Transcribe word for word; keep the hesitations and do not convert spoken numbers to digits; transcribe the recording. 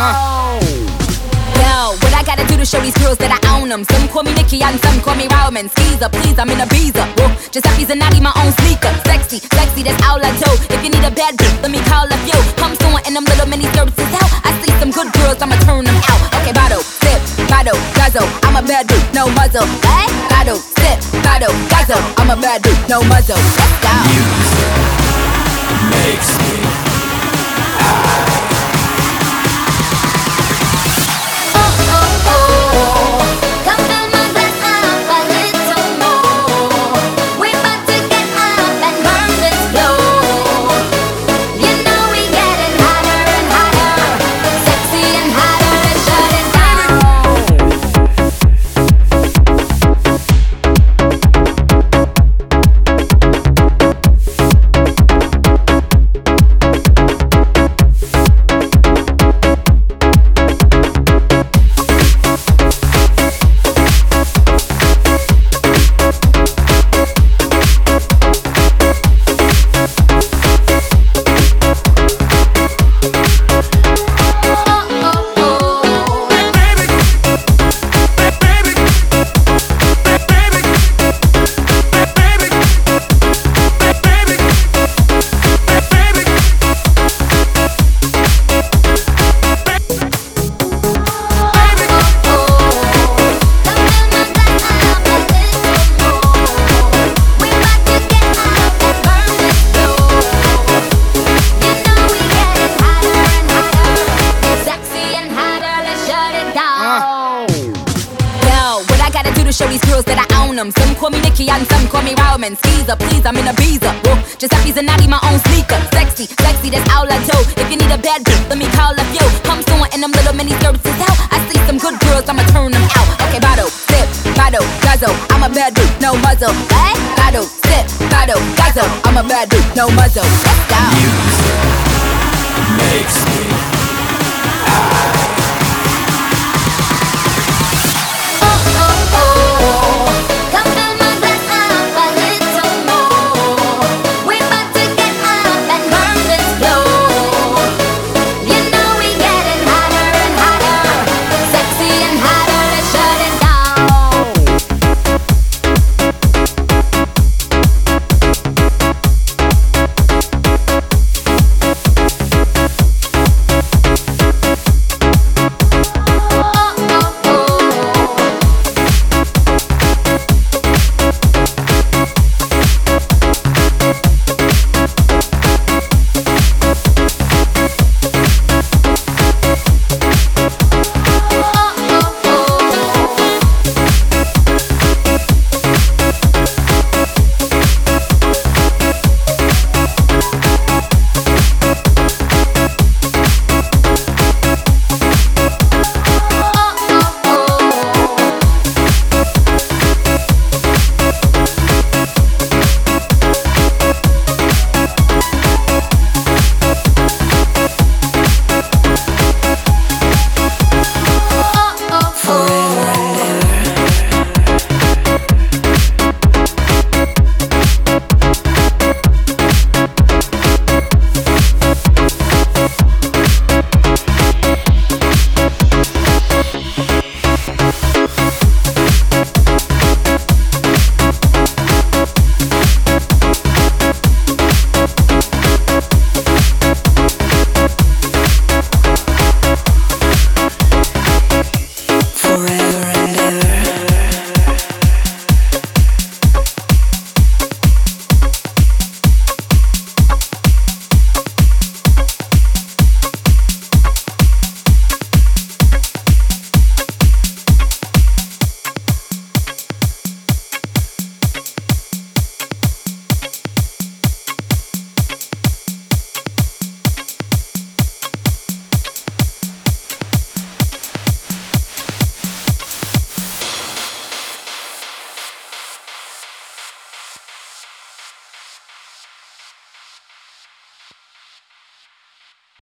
Uh. Yo, what I gotta do to show these girls that I own them? Some call me Nicki and some call me Roman. Skeezer, please, I'm in a Biza. Whoa, Giuseppe's and Natty, my own sneaker. Sexy, sexy, that's all I do. If you need a bad bitch, let me call up you. Come soon in them little mini skirts is out. I see some good girls, I'ma turn them out. Okay, bottle, sip, bottle, guzzle. I'm a bad dude, no muzzle. Hey, bottle, sip, bottle, guzzle. I'm a bad dude, no muzzle. Let's go. Music makes me high. Show these girls that I own them. Some call me Nicki and some call me Roman. Skeezer, please, I'm in a Biza. Whoa, Giuseppe's and Natty, my own sneaker. Sexy, sexy, that's all I do. If you need a bad bitch, let me call up you. Come soon in them little mini skirts is out. I see some good girls, I'ma turn them out. Okay, bottle, sip, bottle, guzzle. I'm a bad dude, no muzzle. Hey, bottle, sip, bottle, guzzle. I'm a bad dude, no muzzle. Let's go. Music makes me